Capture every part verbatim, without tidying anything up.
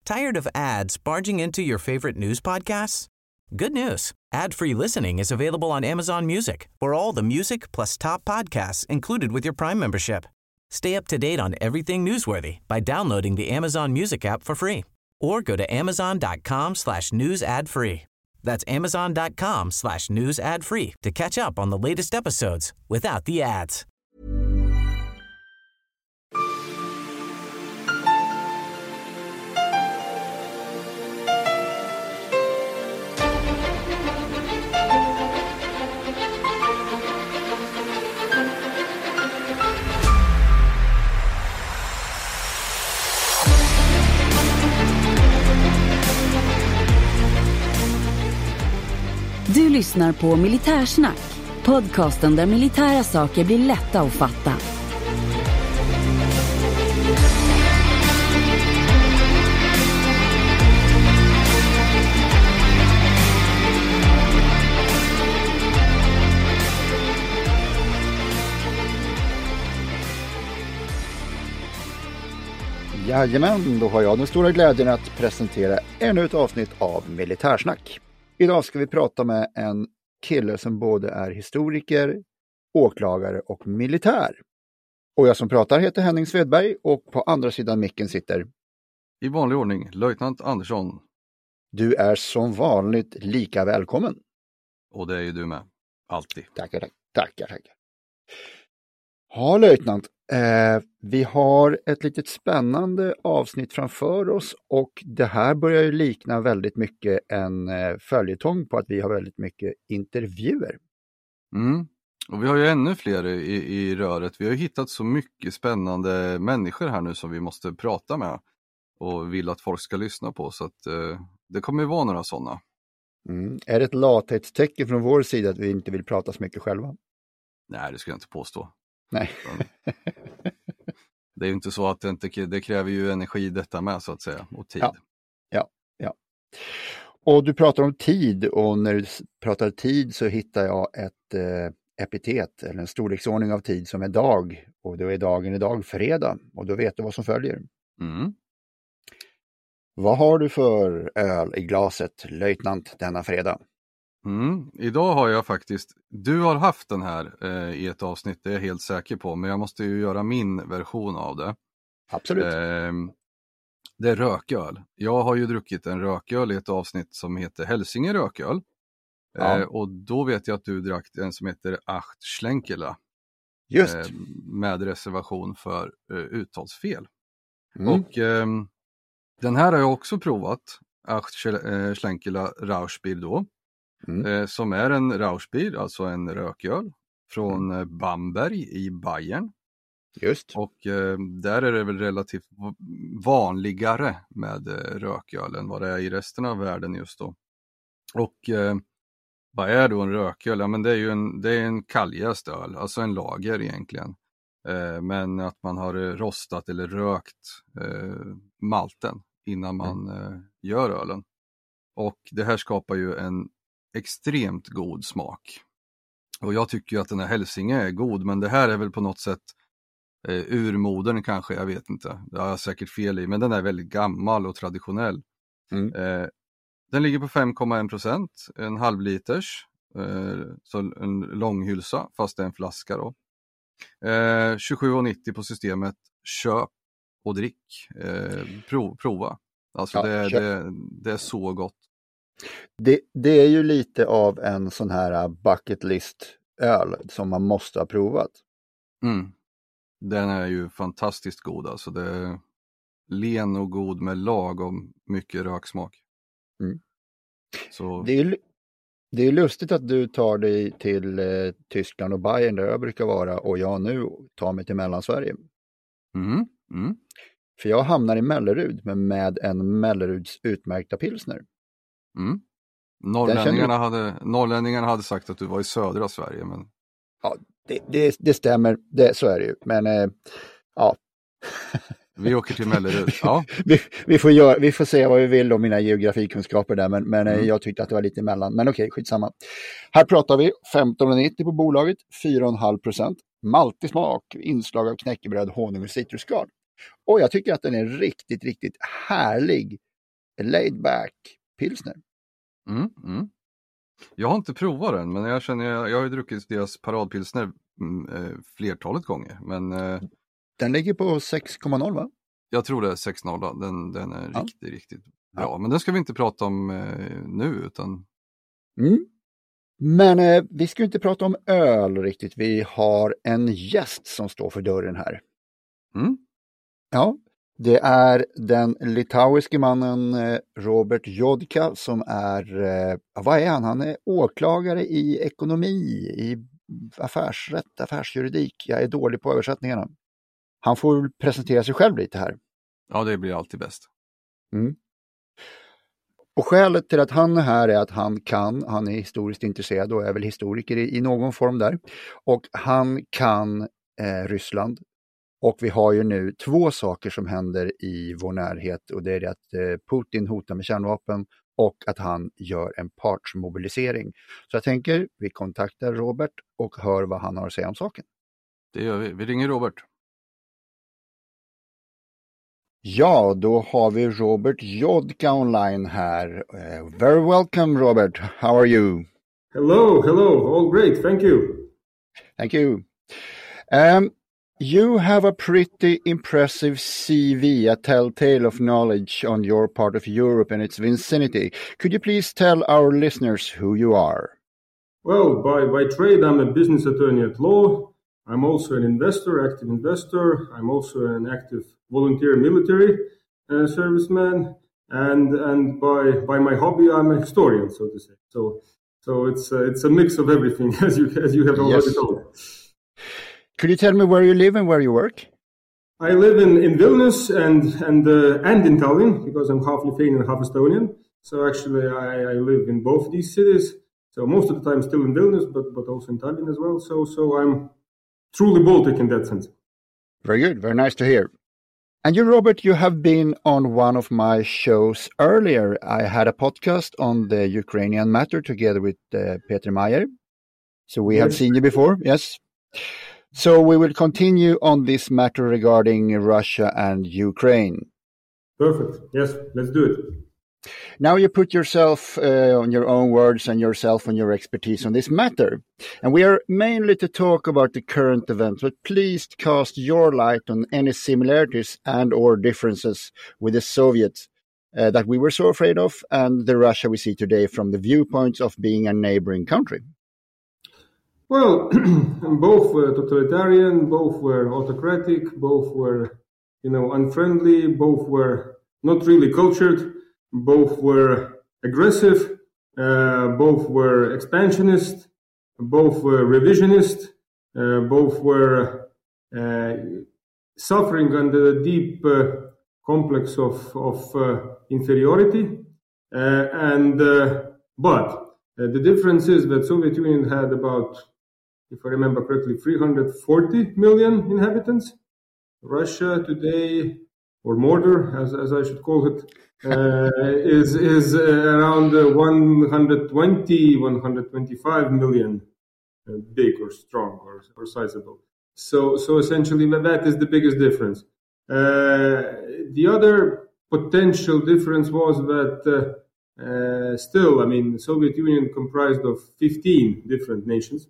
Tired of ads barging into your favorite news podcasts? Good news. Ad-free listening is available on Amazon Music for all the music plus top podcasts included with your Prime membership. Stay up to date on everything newsworthy by downloading the Amazon Music app for free or go to amazon.com slash news ad free. That's amazon.com slash news ad free to catch up on the latest episodes without the ads. Du lyssnar på Militärsnack, podcasten där militära saker blir lätta att fatta. Jajamän, då har jag den stora glädjen att presentera ännu ett avsnitt av Militärsnack. Idag ska vi prata med en kille som både är historiker, åklagare och militär. Och jag som pratar heter Henning Svedberg och på andra sidan micken sitter... I vanlig ordning, löjtnant Andersson. Du är som vanligt lika välkommen. Och det är ju du med, alltid. Tackar, tackar, tackar. tackar. Ja, löjtnant. Eh, vi har ett litet spännande avsnitt framför oss och det här börjar ju likna väldigt mycket en eh, följetong på att vi har väldigt mycket intervjuer. Mm. Och vi har ju ännu fler i, i röret. Vi har ju hittat så mycket spännande människor här nu som vi måste prata med och vill att folk ska lyssna på, så att eh, det kommer ju vara några sådana. Mm. Är det ett lathetstecken från vår sida att vi inte vill prata så mycket själva? Nej, det skulle jag inte påstå. Nej. Det är ju inte så att det, inte, det kräver ju energi detta med, så att säga, och tid. Ja, ja, ja. Och du pratar om tid, och när du pratar tid så hittar jag ett eh, epitet eller en storleksordning av tid som är dag, och då är dagen idag fredag, och då vet du vad som följer. Mm. Vad har du för öl i glaset, löjtnant, denna fredag? Mm. Idag har jag faktiskt, du har haft den här eh, i ett avsnitt, det är jag helt säker på, men jag måste ju göra min version av det. Absolut. Eh, det är rököl. Jag har ju druckit en rököl i ett avsnitt som heter Hälsinge rököl. Ja. Eh, och då vet jag att du drack en som heter Acht Schlenkela. Just. Eh, med reservation för eh, uttalsfel. Mm. Och eh, den här har jag också provat. Acht Schlenkela Rauchbier då. Mm. Eh, som är en Rauchbier, alltså en rököl från eh, Bamberg i Bayern. Just. Och eh, där är det väl relativt vanligare med eh, rököl än vad det är i resten av världen just då. Och eh, vad är då en rököl? Ja, men det är ju en, det är en kalljäst öl, alltså en lager egentligen. Eh, men att man har rostat eller rökt eh, malten innan man mm. eh, gör ölen. Och det här skapar ju en extremt god smak. Och jag tycker ju att den här Hälsinge är god, men det här är väl på något sätt eh, urmodern kanske, jag vet inte. Det har jag säkert fel i, men den är väldigt gammal och traditionell. Mm. Eh, den ligger på fem komma en procent, en halvliters, eh, så en långhylsa, fast det är en flaska då. Eh, tjugosju komma nittio på systemet, köp och drick, eh, prov, prova. Alltså ja, det, det, det är så gott. Det, det är ju lite av en sån här bucket list öl som man måste ha provat. Mm. Den är ju fantastiskt god, alltså det är len och god med lagom mycket röksmak. Mm. Så... Det är det är lustigt att du tar dig till eh, Tyskland och Bayern där jag brukar vara, och jag nu tar mig till Mellansverige. Mm. Mm. För jag hamnar i Mellerud med, med en Melleruds utmärkta pilsner. Mm. Norrlänningarna, du... hade, norrlänningarna hade sagt att du var i södra Sverige. Men... Ja, det, det, det stämmer. Det, så är det ju. Men eh, ja. Vi åker till Mellerud. Ja. vi, vi, får göra, vi får se vad vi vill om mina geografikunskaper där. Men, men mm. jag tyckte att det var lite emellan. Men okej, skitsamma. Här pratar vi femton komma nittio på bolaget. fyra komma fem procent. Maltig smak. Inslag av knäckebröd, honung och citrusskal. Och jag tycker att den är riktigt, riktigt härlig Laid Back Pilsner. Mm, mm. Jag har inte provat den, men jag känner jag, jag har ju druckit deras paradpilsner mm, eh, flertalet gånger. Men, eh, den ligger på sex komma noll va? Jag tror det är sex noll. Den, den är ja. riktigt, riktigt bra. Ja. Men den ska vi inte prata om eh, nu utan... Mm. Men eh, vi ska inte prata om öl riktigt. Vi har en gäst som står för dörren här. Mm. Ja, det är den litauiske mannen eh, Robert Jodka som är, eh, vad är han? Han är åklagare i ekonomi, i affärsrätt, affärsjuridik. Jag är dålig på översättningarna. Han får presentera sig själv lite här. Ja, det blir alltid bäst. Mm. Och skälet till att han är här är att han kan, han är historiskt intresserad och är väl historiker i, i någon form där. Och han kan eh, Ryssland. Och vi har ju nu två saker som händer i vår närhet och det är det att eh, Putin hotar med kärnvapen och att han gör en partsmobilisering. Så jag tänker, vi kontaktar Robert och hör vad han har att säga om saken. Det gör vi. Vi ringer Robert. Ja, då har vi Robert Jodka online här. Uh, very welcome, Robert. How are you? Hello, hello. All great. Thank you. Thank you. Um, you have a pretty impressive C V, a telltale of knowledge on your part of Europe and its vicinity. Could you please tell our listeners who you are? Well, by, by trade, I'm a business attorney at law. I'm also an investor, active investor. I'm also an active volunteer military uh, serviceman, and and by by my hobby, I'm a historian, so to say. So so it's uh, it's a mix of everything, as you as you have already yes. told. Could you tell me where you live and where you work? I live in, in Vilnius and and uh, and in Tallinn because I'm half Lithuanian and half Estonian. So actually, I, I live in both these cities. So most of the time, still in Vilnius, but but also in Tallinn as well. So so I'm truly Baltic in that sense. Very good. Very nice to hear. And you, Robert, you have been on one of my shows earlier. I had a podcast on the Ukrainian matter together with uh, Peter Meyer. So we yes. have seen you before. Yes. So we will continue on this matter regarding Russia and Ukraine. Perfect. Yes, let's do it. Now you put yourself uh, on your own words and yourself on your expertise on this matter. And we are mainly to talk about the current events, but please cast your light on any similarities and or differences with the Soviets uh, that we were so afraid of and the Russia we see today from the viewpoints of being a neighboring country. Well, both were totalitarian, both were autocratic, both were, you know, unfriendly, both were not really cultured. Both were aggressive, uh, both were expansionist, both were revisionist, uh, both were uh, suffering under a deep uh, complex of, of uh, inferiority. Uh, and uh, But uh, the difference is that Soviet Union had about, if I remember correctly, three hundred forty million inhabitants. Russia today, or Mordor, as, as I should call it, uh, is is uh, around uh, one hundred twenty, one hundred twenty-five million, uh, big or strong or, or sizable. So so essentially that is the biggest difference. Uh, the other potential difference was that uh, uh, still, I mean, the Soviet Union comprised of fifteen different nations.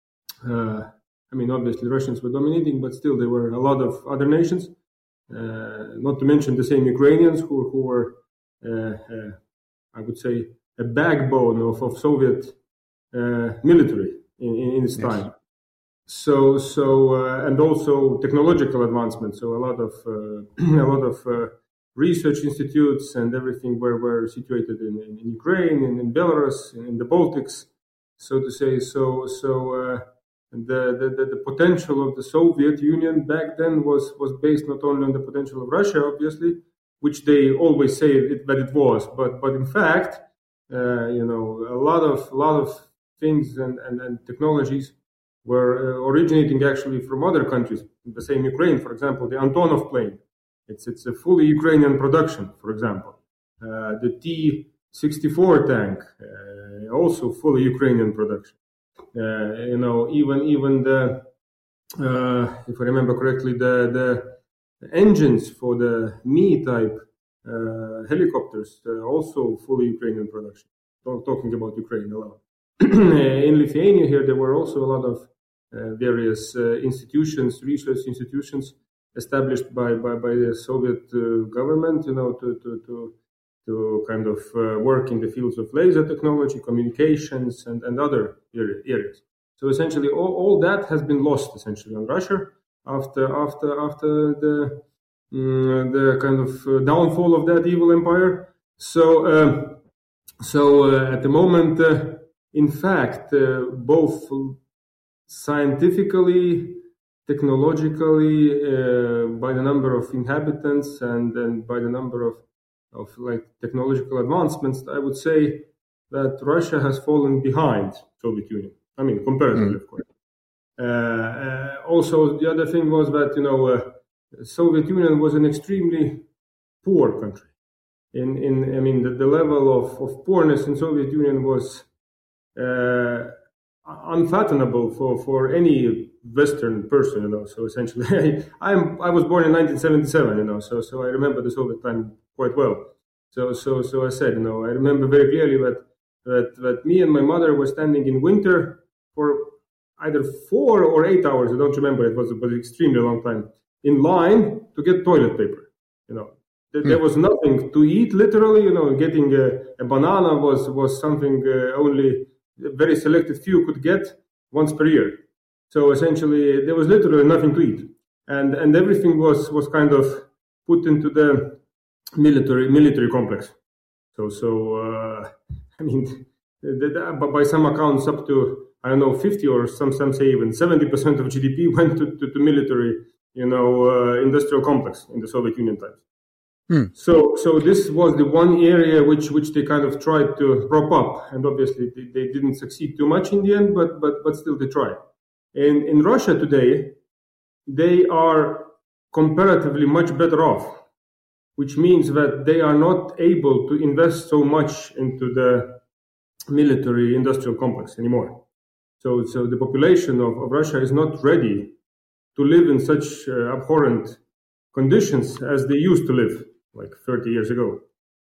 Uh, I mean, obviously Russians were dominating, but still there were a lot of other nations. Uh, not to mention the same Ukrainians who, who were, uh, uh, I would say, a backbone of, of Soviet uh, military in, in, in its yes. time. So, so uh, and also technological advancement. So a lot of uh, a lot of uh, research institutes and everything were, were situated in, in, in Ukraine and in Belarus, in, in the Baltics, so to say. So, so. Uh, The, the, the potential of the Soviet Union back then was, was based not only on the potential of Russia, obviously, which they always say it, that it was, but but in fact, uh, you know, a lot of lot of things and, and, and technologies were uh, originating actually from other countries. The same Ukraine, for example, the Antonov plane, it's it's a fully Ukrainian production. For example, uh, the T sixty-four tank, uh, also fully Ukrainian production. Uh, you know, even even the, uh, if I remember correctly, the the engines for the Me type uh, helicopters, uh, also fully Ukrainian production. Talking about Ukraine alone. In Lithuania here, there were also a lot of uh, various uh, institutions, research institutions established by, by, by the Soviet uh, government, you know, to, to, to, to kind of uh, work in the fields of laser technology, communications, and, and other areas. So essentially, all, all that has been lost essentially on Russia after after after the um, the kind of uh, downfall of that evil empire. So uh, so uh, at the moment, uh, in fact, uh, both scientifically, technologically, uh, by the number of inhabitants and and by the number of of like technological advancements, I would say that Russia has fallen behind Soviet Union. I mean, comparatively, mm. of course. Uh, uh, also, the other thing was that, you know, uh, Soviet Union was an extremely poor country. In, in I mean, the, the level of, of poorness in Soviet Union was uh, unfathomable for, for any Western person, you know. So essentially, I'm I was born in nineteen seventy-seven, you know. So so I remember the Soviet time quite well. So so so I said, you know, I remember very clearly that that that me and my mother were standing in winter for either four or eight hours, I don't remember, it was, it was an extremely long time, in line to get toilet paper. You know, there, there was nothing to eat, literally, you know, getting a, a banana was, was something uh, only a very selected few could get once per year. So essentially, there was literally nothing to eat. And and everything was, was kind of put into the military military complex. So, so uh, I mean, the, the, by some accounts, up to, I don't know, fifty or some some say even seventy percent of G D P went to, to, to military, you know, uh, industrial complex in the Soviet Union times. Hmm. So so this was the one area which which they kind of tried to prop up, and obviously they, they didn't succeed too much in the end, but but but still they tried. In in Russia today, they are comparatively much better off, which means that they are not able to invest so much into the military industrial complex anymore. So, so the population of, of Russia is not ready to live in such uh, abhorrent conditions as they used to live like thirty years ago.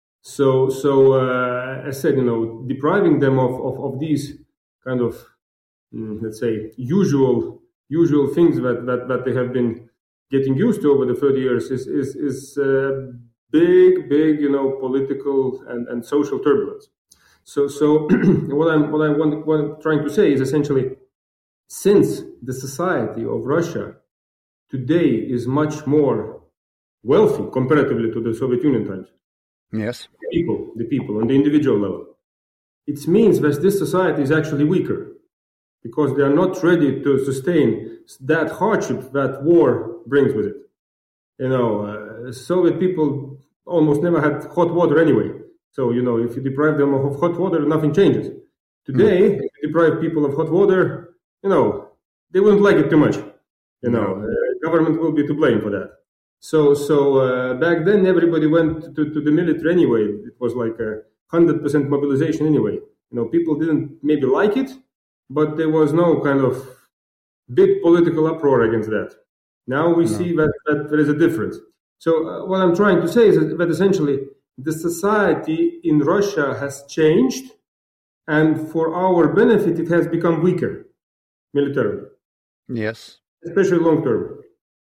So, so uh, as I said, you know, depriving them of, of, of these kind of, mm, let's say, usual usual things that, that, that they have been getting used to over the thirty years is is, is uh, big, big, you know, political and, and social turbulence. So, so what I'm what I want what I'm trying to say is essentially, since the society of Russia today is much more wealthy comparatively to the Soviet Union times. Yes, the people, the people on the individual level, it means that this society is actually weaker because they are not ready to sustain that hardship that war brings with it. You know, uh, Soviet people almost never had hot water anyway. So, you know, if you deprive them of hot water, nothing changes. Today, mm. if you deprive people of hot water, you know, they wouldn't like it too much. You know, no. uh, government will be to blame for that. So, so uh, back then, everybody went to, to the military anyway. It was like a one hundred percent mobilization anyway. You know, people didn't maybe like it, but there was no kind of big political uproar against that. Now we no. see that, that there is a difference. So uh, what I'm trying to say is that essentially, the society in Russia has changed, and for our benefit, it has become weaker militarily. Yes. Especially long term.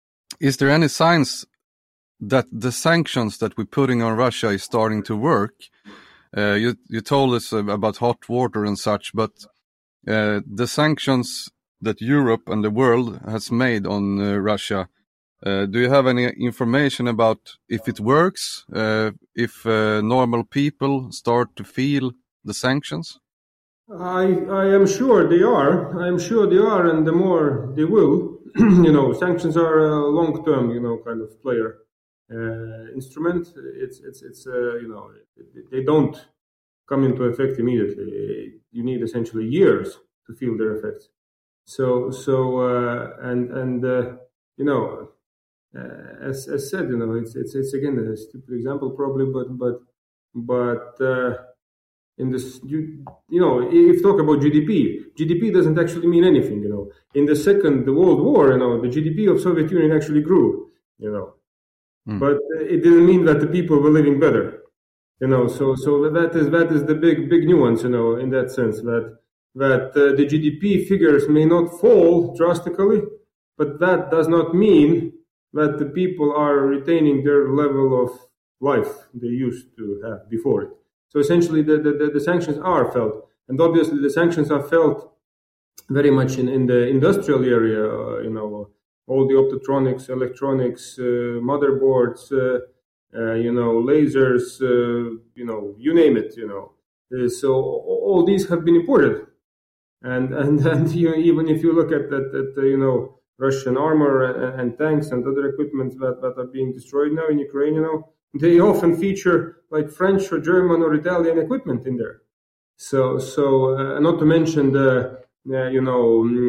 Is there any signs that the sanctions that we're putting on Russia is starting to work? Uh, you, you told us about hot water and such, but uh, the sanctions that Europe and the world has made on uh, Russia, Uh, do you have any information about if it works, uh, if uh, normal people start to feel the sanctions? I I am sure they are. I am sure they are, and the more they will, you know, sanctions are a long-term, you know, kind of player uh, instrument. It's it's it's uh, you know, they don't come into effect immediately. You need essentially years to feel their effects. So so uh, and and uh, you know. Uh, as, as said, you know, it's it's it's again a stupid example probably, but but but uh, in this, you you know, if you talk about G D P, G D P doesn't actually mean anything. You know, in the Second World War, you know, the G D P of Soviet Union actually grew. You know, mm. but it didn't mean that the people were living better. You know, so so that is that is the big big nuance, you know, in that sense that that uh, the G D P figures may not fall drastically, but that does not mean that the people are retaining their level of life they used to have before it. So essentially, the the, the sanctions are felt, and obviously the sanctions are felt very much in, in the industrial area. Uh, you know, all the optotronics, electronics, uh, motherboards. Uh, Uh, you know, lasers, uh, you know, you name it, you know. Uh, so all these have been imported. And and, and you know, even if you look at that, at, uh, you know, Russian armor and, and tanks and other equipment that, that are being destroyed now in Ukraine, you know, they often feature like French or German or Italian equipment in there. So, so uh, not to mention the, uh, you know,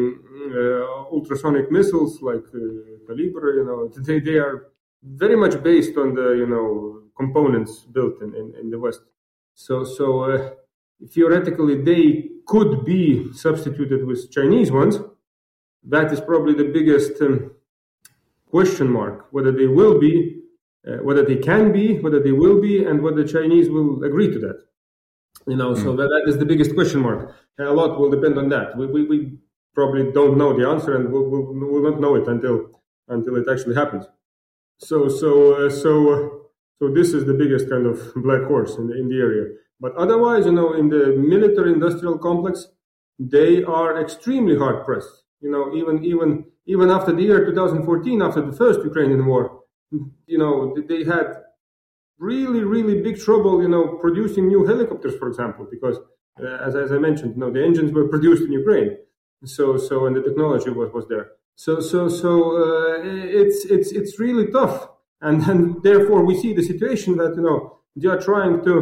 uh, ultrasonic missiles like uh, Calibre, you know, they, they are very much based on the, you know, components built in, in, in the West. So, so uh, theoretically, they could be substituted with Chinese ones. That is probably the biggest um, question mark, whether they will be, uh, whether they can be, whether they will be, and whether the Chinese will agree to that. You know, mm. so that, that is the biggest question mark. And a lot will depend on that. We, we, we probably don't know the answer, and we'll, we'll, we'll not know it until until it actually happens. So, so, uh, so, uh, so this is the biggest kind of black horse in the, in the area. But otherwise, you know, in the military-industrial complex, they are extremely hard pressed. You know, even, even, even after the year two thousand fourteen, after the first Ukrainian war, you know, they had really, really big trouble, you know, producing new helicopters, for example, because uh, as as I mentioned, you know, the engines were produced in Ukraine. So, so, and the technology was was there. So, so, so uh, it's it's it's really tough, and and therefore we see the situation that, you know, they are trying to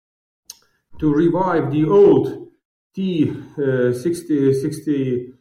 to revive the old T sixty, sixty,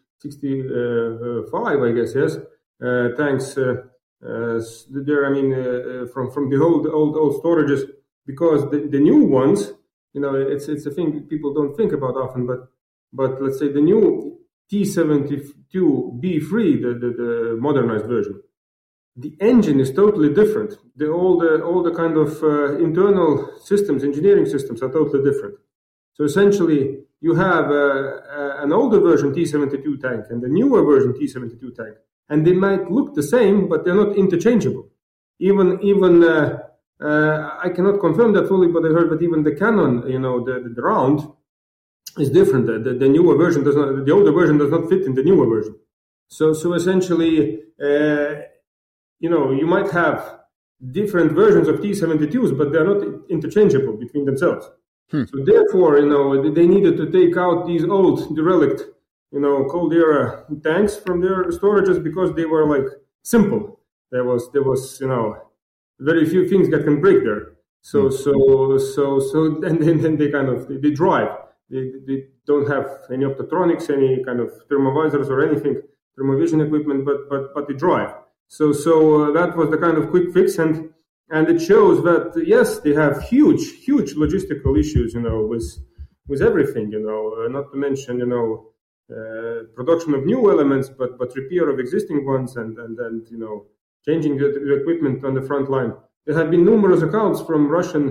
sixty-five, I guess, yes, uh, tanks. Uh, uh, there, I mean, uh, from from the old old old storages, because the, the new ones, you know, it's it's a thing people don't think about often, but but let's say the new T seventy-two B three, the, the, the modernized version, the engine is totally different. The, all the all the kind of uh, internal systems, engineering systems are totally different. So essentially, you have uh, uh, an older version T seventy-two tank and the newer version T seventy-two tank, and they might look the same, but they're not interchangeable. Even even uh, uh, I cannot confirm that fully, but I heard that even the cannon, you know, the, the, the round, is different. The, the, the newer version does not, the older version does not fit in the newer version. So, so essentially, uh, you know, you might have different versions of T seventy-twos, but they're not interchangeable between themselves. Hmm. So therefore, you know, they needed to take out these old, derelict, you know, Cold Era tanks from their storages because they were like simple. There was, there was, you know, very few things that can break there. So, hmm. so, so, so, and then, then they kind of, they, they drive. They, they don't have any optotronics, any kind of thermovisors or anything, thermovision equipment, but but but they drive. So so uh, that was the kind of quick fix, and and it shows that yes, they have huge huge logistical issues, you know, with with everything, you know, uh, not to mention, you know, uh, production of new elements, but but repair of existing ones, and and and you know, changing the, the equipment on the front line. There have been numerous accounts from Russian,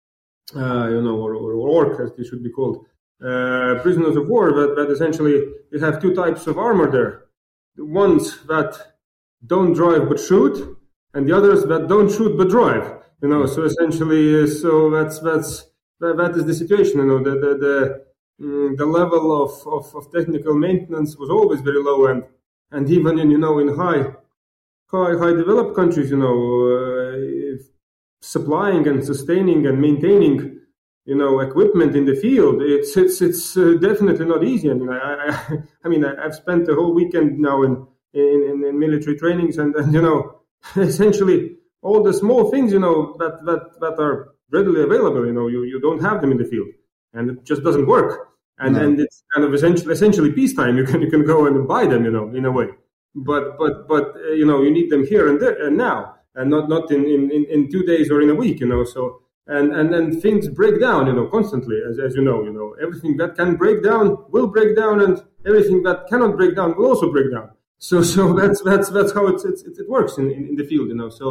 uh, you know, or, or orc as they should be called. Uh, prisoners of war that, that essentially you have two types of armor there. The ones that don't drive but shoot, and the others that don't shoot but drive. You know, so essentially, uh, so that's that's that, that is the situation. You know, the the the, mm, the level of, of, of technical maintenance was always very low, and and even in, you know, in high high high developed countries, you know, uh, supplying and sustaining and maintaining, you know, equipment in the field, it's it's it's uh, definitely not easy. I mean, I I, I mean, I, I've spent the whole weekend now in in, in military trainings, and, and you know, essentially all the small things, you know, that that that are readily available, you know, you, you don't have them in the field, and it just doesn't work. And no. and it's kind of essentially essentially peacetime. You can you can go and buy them, you know, in a way, but but but uh, you know, you need them here and there and now, and not not in, in, in two days or in a week, you know, so. And and then things break down, you know, constantly, as as you know, you know, everything that can break down will break down, and everything that cannot break down will also break down. So so that's that's that's how it's, it's it works in, in, in the field, you know. So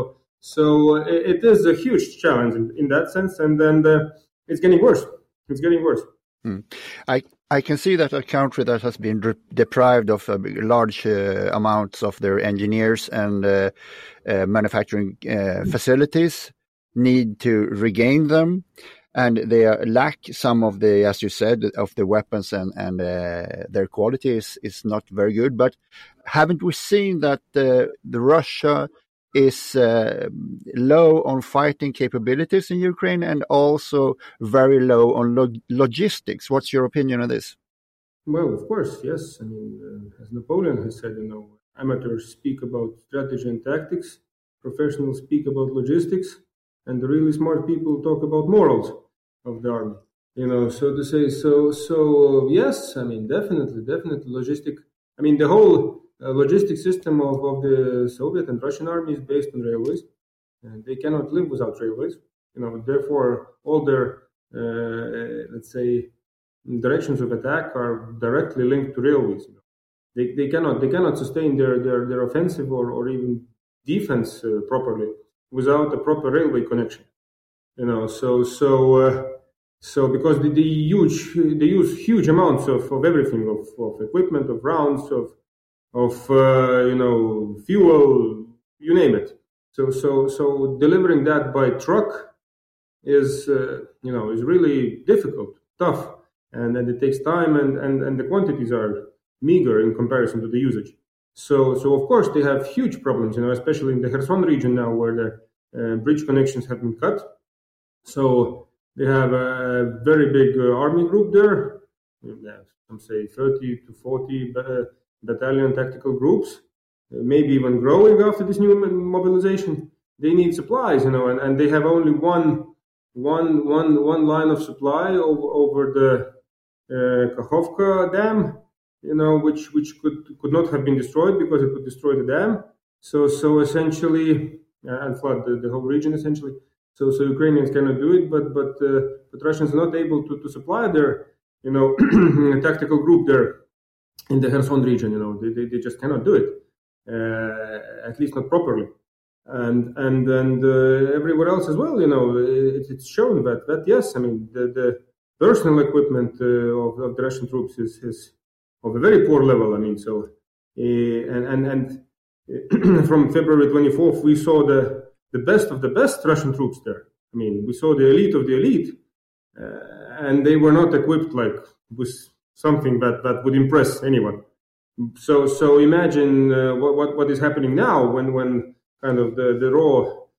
So uh, it, it is a huge challenge in, in that sense, and then uh, it's getting worse. It's getting worse. Mm. I I can see that a country that has been de- deprived of uh, large uh, amounts of their engineers and uh, uh, manufacturing uh, facilities need to regain them, and they uh, lack some of the, as you said, of the weapons, and and uh, their quality is, is not very good. But haven't we seen that uh, the Russia is uh, low on fighting capabilities in Ukraine and also very low on log- logistics? What's your opinion on this? Well, of course, yes. I mean, uh, as Napoleon has said, you know, amateurs speak about strategy and tactics, professionals speak about logistics, and the really smart people talk about morals of the army. You know, so to say, so, so yes, I mean, definitely, definitely logistic. I mean, the whole uh, logistic system of, of the Soviet and Russian army is based on railways, and they cannot live without railways. You know, therefore, all their, uh, let's say, directions of attack are directly linked to railways. You know. They they cannot they cannot sustain their their, their offensive or, or even defense uh, properly without a proper railway connection. You know, so so uh, so because the, the huge they use huge amounts of, of everything, of, of equipment, of rounds, of of uh, you know fuel, you name it. So so so delivering that by truck is uh, you know is really difficult, tough, and and it takes time, and, and, and the quantities are meager in comparison to the usage. So so of course they have huge problems, you know, especially in the Kherson region now, where the uh, bridge connections have been cut. So they have a very big uh, army group there. Yeah, some say thirty to forty uh, battalion tactical groups, uh, maybe even growing after this new mobilization. They need supplies, you know, and, and they have only one one one one line of supply over over the uh, Kakhovka dam, you know, which which could could not have been destroyed because it would destroy the dam. So so essentially, uh, and flood the, the whole region essentially. So so Ukrainians cannot do it, but but uh, but Russians are not able to, to supply their you know tactical group there in the Kherson region. You know, they they, they just cannot do it, uh, at least not properly. And and and uh, everywhere else as well, you know, it, it's shown that that yes, I mean the, the personal equipment uh, of, of the Russian troops is, is of a very poor level. I mean, so uh, and and and from February twenty-fourth, we saw the the best of the best Russian troops there. I mean, we saw the elite of the elite, uh, and they were not equipped like with something that, that would impress anyone. So so imagine uh, what, what what is happening now when when kind of the, the raw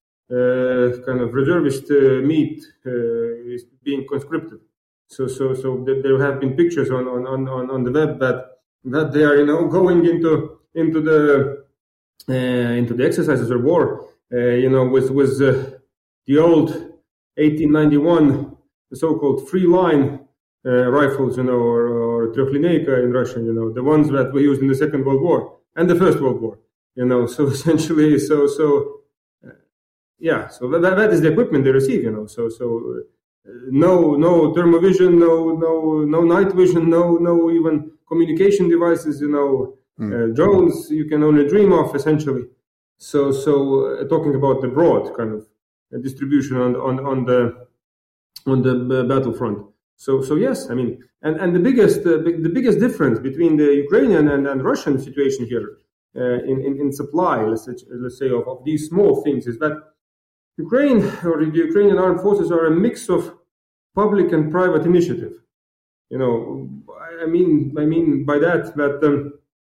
uh, kind of reservist uh, meat uh, is being conscripted. So so so th- there have been pictures on, on, on, on the web that that they are you know going into into the uh, into the exercises or war uh, you know with with uh, the old eighteen ninety-one the so-called free line uh, rifles, you know, or, or trехлинейка in Russian, you know, the ones that were used in the Second World War and the First World War. You know, so essentially, so so, uh, yeah. So that that is the equipment they receive. You know, so so, uh, no no thermovision, no no no night vision, no no even communication devices. You know, mm. uh, drones you can only dream of essentially. So so uh, talking about the broad kind of distribution on on on the on the battlefront. So so yes, I mean, and and the biggest uh, the biggest difference between the Ukrainian and, and Russian situation here. Uh, in, in, in supply, let's, let's say, of, of these small things, is that Ukraine or the Ukrainian armed forces are a mix of public and private initiative. You know, I mean, I mean by that that um,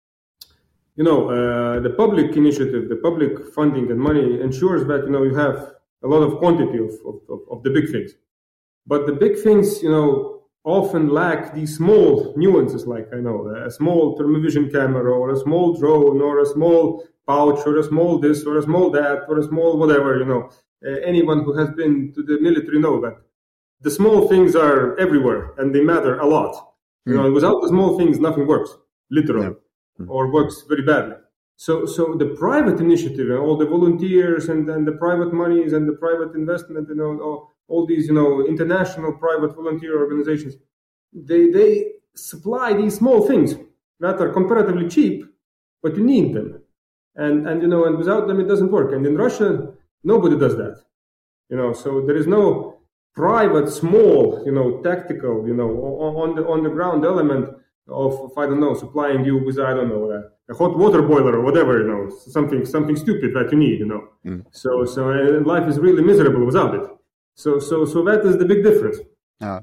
you know uh, the public initiative, the public funding and money ensures that you know you have a lot of quantity of, of, of the big things, but the big things, you know. Often lack these small nuances, like I know a small thermovision camera, or a small drone, or a small pouch, or a small this, or a small that, or a small whatever. You know, uh, anyone who has been to the military know that the small things are everywhere and they matter a lot. Mm. You know, without the small things, nothing works, literally, yeah. mm. or works very badly. So, so the private initiative and all the volunteers and, and the private monies and the private investment, you know. All, all these, you know, international private volunteer organizations, they they supply these small things that are comparatively cheap, but you need them. And, and you know, and without them, it doesn't work. And in Russia, Nobody does that. You know, so there is no private, small, you know, tactical, you know, on the on the ground element of, of I don't know, supplying you with, I don't know, a, a hot water boiler or whatever, you know, something something stupid that you need, you know. Mm. So so uh, life is really miserable without it. So so so that is the big difference. Uh,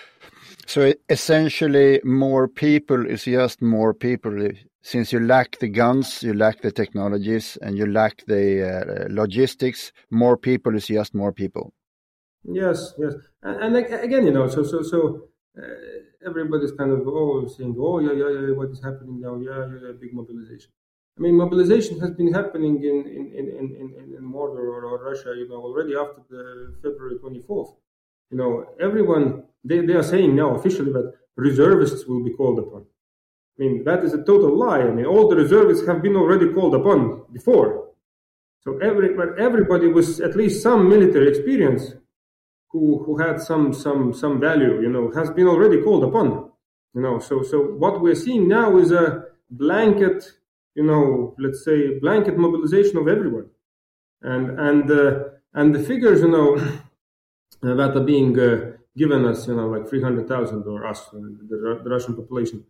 so essentially, more people is just more people. Since you lack the guns, you lack the technologies, and you lack the uh, logistics, more people is just more people. Yes, yes, and, and again, you know, so so so uh, everybody's kind of oh saying, oh yeah, yeah, yeah, what is happening now? Yeah, yeah, yeah, big mobilization. I mean, mobilization has been happening in in in in, in, in Mordor or, or Russia, you know, already after the February twenty-fourth. You know, everyone they, they are saying now officially that reservists will be called upon. I mean, that is a total lie. I mean, all the reservists have been already called upon before. So every everybody with at least some military experience who who had some some some value, you know, has been already called upon. You know, so so what we're seeing now is a blanket, you know, let's say blanket mobilization of everyone. And and uh, and the figures, you know, that are being uh, given us, you know, like three hundred thousand or us, uh, the, the Russian population,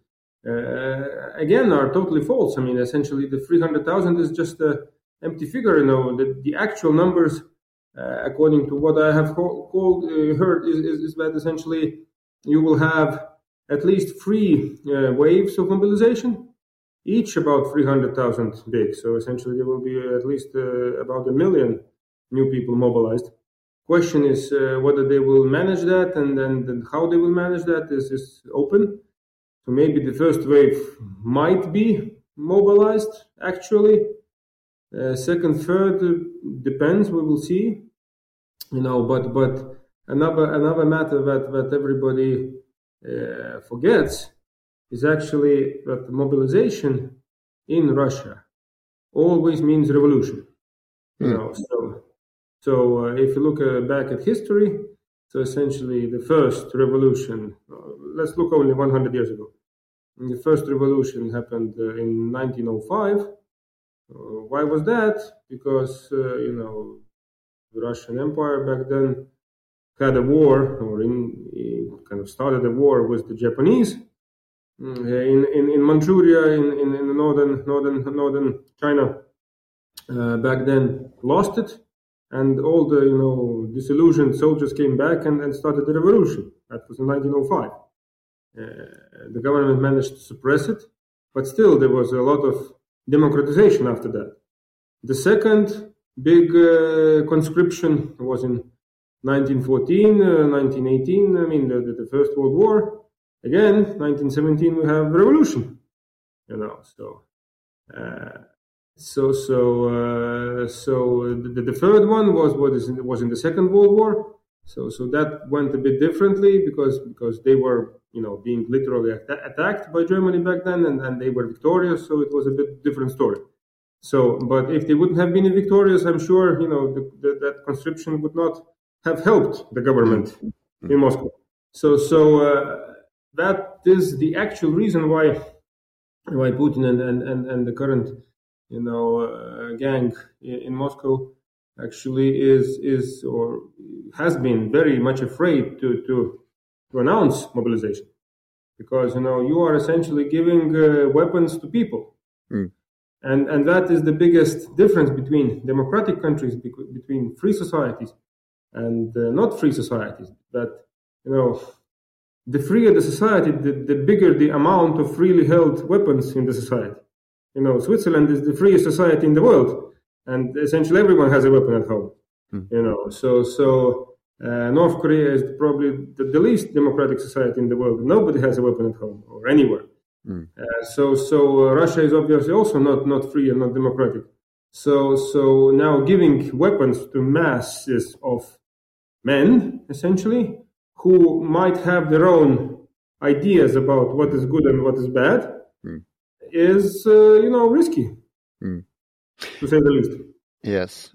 uh, again, are totally false. I mean, essentially, the three hundred thousand is just an empty figure. You know, the, the actual numbers, uh, according to what I have called, called uh, heard, is, is, is that essentially you will have at least three uh, waves of mobilization, each about three hundred thousand big. So essentially, there will be at least uh, about a million new people mobilized. Question is uh, whether they will manage that, and then and how they will manage that is, is open. So maybe the first wave might be mobilized, actually. Uh, second, third, uh, depends, we will see. You know, but but another another matter that, that everybody uh, forgets is actually that mobilization in Russia always means revolution. You mm. know, so so uh, if you look uh, back at history, so essentially the first revolution, uh, let's look only one hundred years ago. And the first revolution happened uh, in nineteen oh five. Uh, why was that? Because, uh, you know, the Russian Empire back then had a war, or in, in kind of started a war with the Japanese in in, in Manchuria, in, in, in the northern northern northern China. Uh, back then, lost it, and all the you know disillusioned soldiers came back and, and started the revolution. That was in nineteen oh five. Uh, the government managed to suppress it, but still there was a lot of democratization after that. The second big uh, conscription was in nineteen fourteen, uh, nineteen eighteen, I mean the, the, the First World War. Again, nineteen seventeen we have revolution, you know, so uh, so so uh, so the, the third one was what is in, was in the Second World War. So so that went a bit differently because because they were you know being literally at- attacked by Germany back then, and, and they were victorious. So it was a bit different story. So, but if they wouldn't have been victorious, I'm sure you know the, the, that conscription would not have helped the government mm-hmm. in Moscow. So so uh, that is the actual reason why why Putin and and, and, and the current you know uh, gang in, in Moscow actually is is or has been very much afraid to to, to announce mobilization, because you know you are essentially giving uh, weapons to people, mm. and and that is the biggest difference between democratic countries, between free societies and uh, not free societies. That you know the freer the society, the, the bigger the amount of freely held weapons in the society. You know, Switzerland is the freest society in the world. And essentially everyone has a weapon at home, mm. you know. So, so uh, North Korea is probably the, the least democratic society in the world. Nobody has a weapon at home or anywhere. Mm. Uh, so, so uh, Russia is obviously also not, not free and not democratic. So, so now giving weapons to masses of men, essentially, who might have their own ideas about what is good and what is bad, mm. is uh, you know risky. Mm. To say the least. Yes.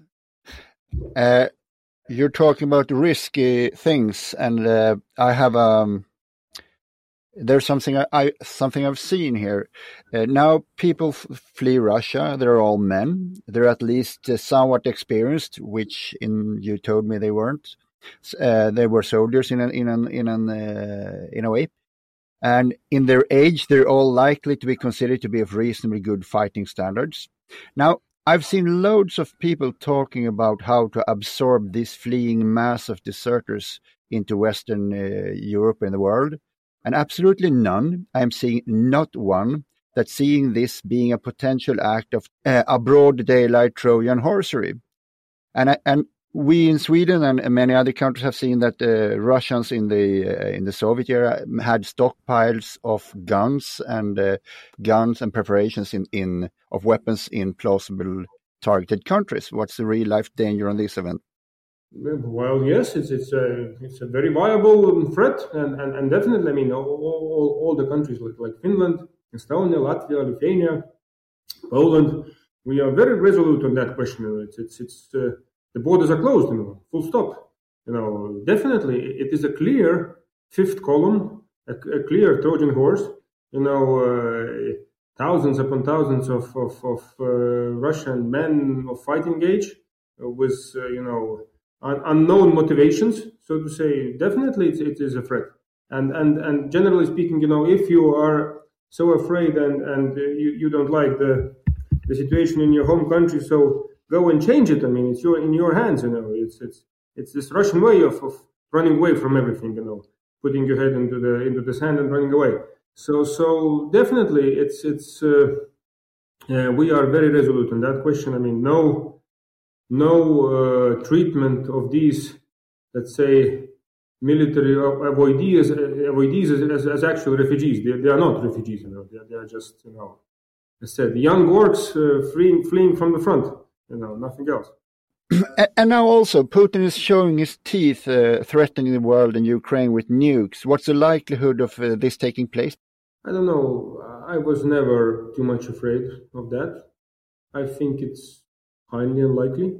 Uh, you're talking about risky things, and uh, I have um, there's something I, I something I've seen here. Uh, now people f- flee Russia. They're all men. They're at least uh, somewhat experienced, which in you told me they weren't. Uh, they were soldiers in an in an in an uh, in a way, and in their age, they're all likely to be considered to be of reasonably good fighting standards. Now, I've seen loads of people talking about how to absorb this fleeing mass of deserters into Western uh, Europe and the world, and absolutely none, I'm seeing not one, that's seeing this being a potential act of uh, a broad daylight Trojan horsery. And and we in Sweden and many other countries have seen that uh, Russians in the uh, in the Soviet era had stockpiles of guns and uh, guns and preparations in, in of weapons in plausible targeted countries. What's the real life danger on this event? Well, yes, it's it's a it's a very viable threat, and, and, and definitely, I mean, all, all, all the countries like, like Finland, Estonia, Latvia, Lithuania, Poland, we are very resolute on that question. It's it's it's uh, the borders are closed, you know, full stop. You know, definitely, it is a clear fifth column, a, a clear Trojan horse. You know, uh, thousands upon thousands of of, of uh, Russian men of fighting age uh, with uh, you know. Un- unknown motivations, so to say. Definitely it, it is a threat, and and and generally speaking, you know, if you are so afraid and and uh, you, you don't like the the situation in your home country, so go and change it. I mean, it's your in your hands, you know. It's it's it's this Russian way of, of running away from everything, you know, putting your head into the into the sand and running away. So so definitely it's it's uh, uh, we are very resolute on that question. I mean, no no uh, treatment of these, let's say, military avoidees, avoidees as, as, as actual refugees. They, they are not refugees, you know. They, they are just, you know, as I said, young orcs uh, fleeing, fleeing from the front, you know, nothing else. And now also, Putin is showing his teeth, uh, threatening the world and Ukraine with nukes. What's the likelihood of uh, this taking place? I don't know. I was never too much afraid of that. I think it's highly unlikely.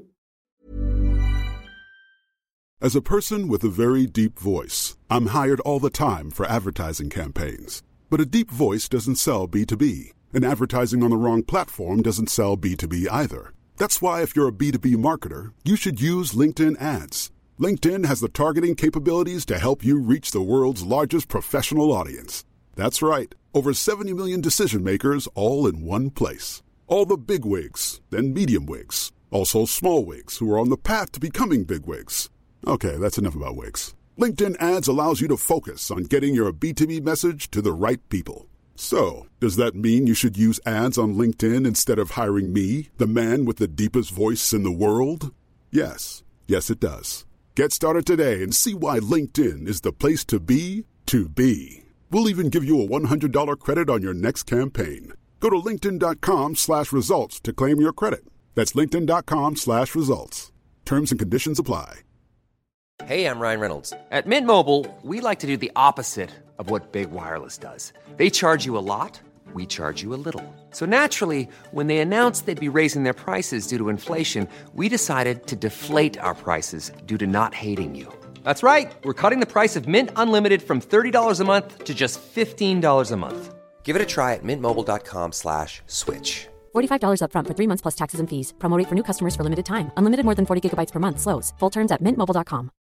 As a person with a very deep voice, I'm hired all the time for advertising campaigns. But a deep voice doesn't sell B two B, and advertising on the wrong platform doesn't sell B two B either. That's why if you're a B two B marketer, you should use LinkedIn ads. LinkedIn has the targeting capabilities to help you reach the world's largest professional audience. That's right, over seventy million decision makers all in one place. All the big wigs, then medium wigs, also small wigs who are on the path to becoming big wigs. Okay, that's enough about wigs. LinkedIn ads allows you to focus on getting your B two B message to the right people. So, does that mean you should use ads on LinkedIn instead of hiring me, the man with the deepest voice in the world? Yes. Yes, it does. Get started today and see why LinkedIn is the place to be to be. We'll even give you a one hundred dollars credit on your next campaign. Go to linkedin.com slash results to claim your credit. That's linkedin.com slash results. Terms and conditions apply. Hey, I'm Ryan Reynolds. At Mint Mobile, we like to do the opposite of what Big Wireless does. They charge you a lot, we charge you a little. So naturally, when they announced they'd be raising their prices due to inflation, we decided to deflate our prices due to not hating you. That's right. We're cutting the price of Mint Unlimited from thirty dollars a month to just fifteen dollars a month. Give it a try at mintmobile.com slash switch. forty-five dollars up front for three months plus taxes and fees. Promo rate for new customers for limited time. Unlimited more than forty gigabytes per month. Slows full terms at mint mobile dot com.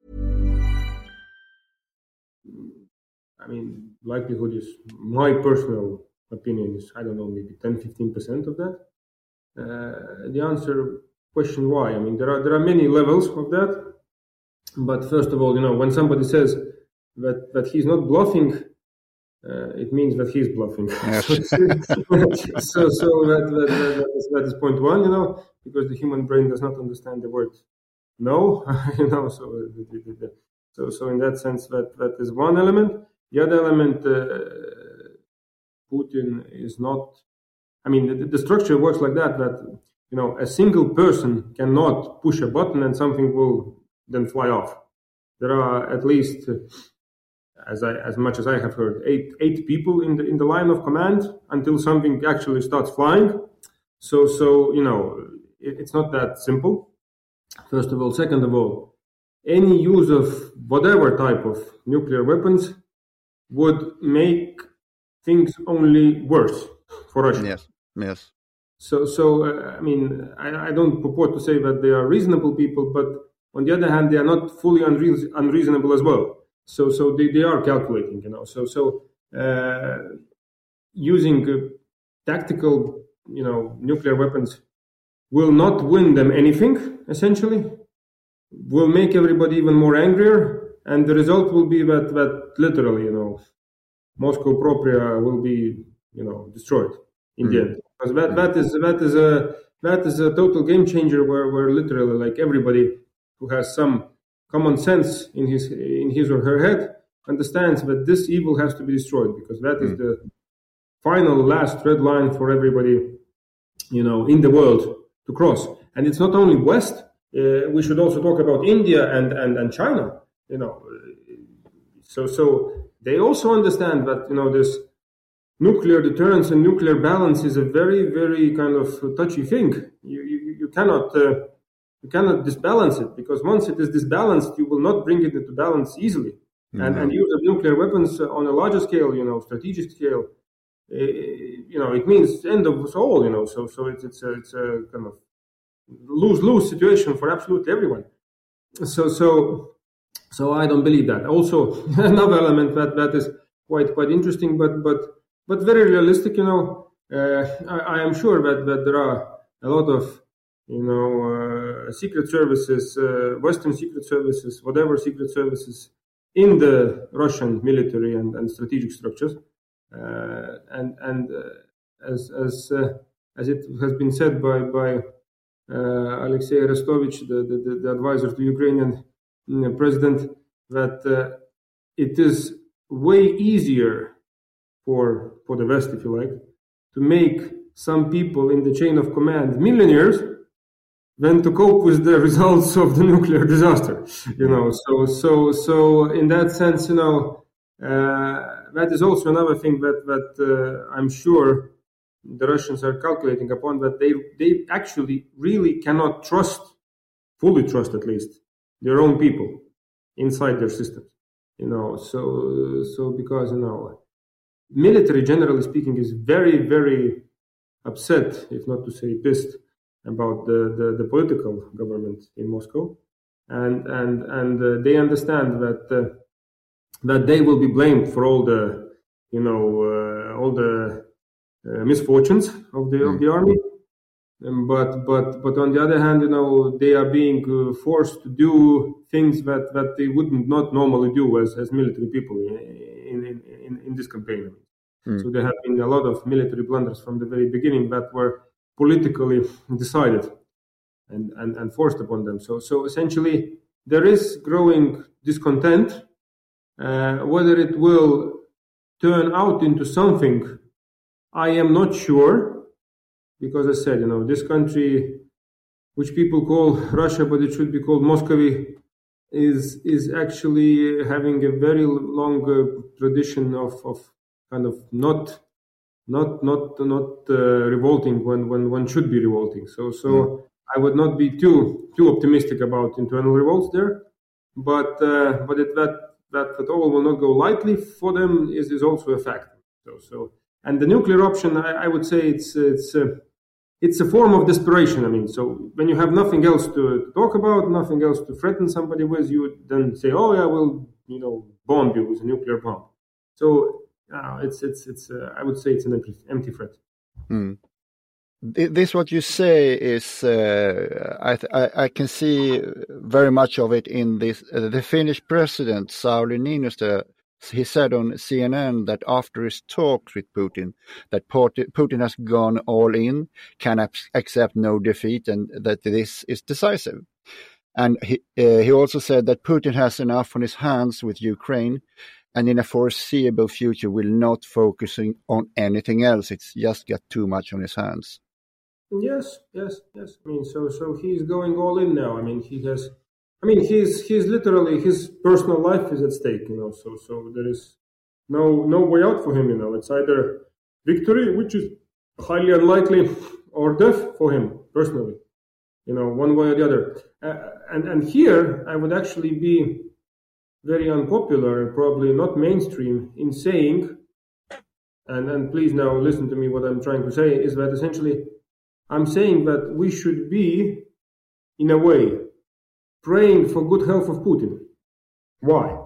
I mean, likelihood is, my personal opinion is, I don't know, maybe ten to fifteen percent of that. Uh, the answer, question why? I mean, there are there are many levels of that. But first of all, you know, when somebody says that, that he's not bluffing, uh, it means that he's bluffing. Yes. so so, so that, that, that, is, that is point one, you know, because the human brain does not understand the word no, you know, so the, the, the, so so in that sense, that, that is one element. The other element, uh, Putin is not, I mean, the, the structure works like that, that, you know, a single person cannot push a button and something will then fly off. There are at least, uh, as I, as much as I have heard, eight eight people in the in the line of command until something actually starts flying. So so you know, it, it's not that simple. First of all, second of all, any use of whatever type of nuclear weapons would make things only worse for Russia. Yes, yes. So, so uh, I mean, I, I don't purport to say that they are reasonable people, but on the other hand, they are not fully unre- unreasonable as well. So, so they, they are calculating, you know. So, so uh, using uh, tactical, you know, nuclear weapons will not win them anything. Essentially, will make everybody even more angrier, and the result will be that that literally, you know, Moscow propria will be, you know, destroyed in mm. the end. Because that, that is that is a that is a total game changer where, where literally like everybody who has some common sense in his in his or her head understands that this evil has to be destroyed, because that mm. is the final last red line for everybody, you know, in the world to cross. And it's not only West. Uh, we should also talk about India and, and, and China. You know, so so they also understand that, you know, this nuclear deterrence and nuclear balance is a very, very kind of touchy thing. You you, you cannot uh, you cannot disbalance it, because once it is disbalanced, you will not bring it into balance easily. Mm-hmm. And and use of nuclear weapons on a larger scale, you know, strategic scale, uh, you know, it means end of us all. You know, so so it's it's a, it's a kind of lose-lose situation for absolutely everyone. So so so I don't believe that. Also, another element that that is quite quite interesting, but but. But very realistic, you know. Uh, I, I am sure that, that there are a lot of, you know, uh, secret services, uh, Western secret services, whatever secret services in the Russian military and, and strategic structures. Uh, and and uh, as as uh, as it has been said by by uh, Alexei Arestovich, the, the the advisor to Ukrainian president, that uh, it is way easier for for the West, if you like, to make some people in the chain of command millionaires than to cope with the results of the nuclear disaster. You know, so so so in that sense, you know, uh, that is also another thing that that uh, I'm sure the Russians are calculating upon, that they they actually really cannot trust, fully trust at least, their own people inside their systems. You know, so so because, you know, military, generally speaking, is very, very upset, if not to say pissed, about the, the, the political government in Moscow, and and and uh, they understand that uh, that they will be blamed for all the, you know, uh, all the uh, misfortunes of the mm. of the army. Um, but but but on the other hand, you know, they are being uh, forced to do things that, that they would not normally do as, as military people in in, in, in this campaign. Mm. So there have been a lot of military blunders from the very beginning that were politically decided and, and, and forced upon them. So so essentially there is growing discontent. Uh, whether it will turn out into something, I am not sure. Because I said, you know, this country, which people call Russia, but it should be called Muscovy, is is actually having a very long uh, tradition of, of kind of not not not not uh, revolting when, when one should be revolting. So so mm. I would not be too too optimistic about internal revolts there, but uh, but it, that that that all will not go lightly for them is, is also a fact. So so. And the nuclear option, I, I would say it's it's uh, it's a form of desperation. I mean, so when you have nothing else to, to talk about, nothing else to threaten somebody with, you then say, "Oh yeah, we'll, you know, bomb you with a nuclear bomb." So uh, it's it's it's uh, I would say it's an empty, empty threat. Hmm. This what you say is uh, I, I I can see very much of it in this uh, the Finnish president Sauli Niinistö. He said on C N N that after his talks with Putin, that Putin has gone all in, can accept no defeat, and that this is decisive. And he, uh, he also said that Putin has enough on his hands with Ukraine, and in a foreseeable future will not focusing on anything else. It's just got too much on his hands. Yes, yes, yes. I mean, so so he's going all in now. I mean, he has. I mean, he's he's literally, his personal life is at stake, you know. So so there is no no way out for him, you know. It's either victory, which is highly unlikely, or death for him personally, you know, one way or the other. Uh, and and here I would actually be very unpopular, probably not mainstream, in saying, and, and please now listen to me, what I'm trying to say is that essentially I'm saying that we should be, in a way, praying for good health of Putin. Why?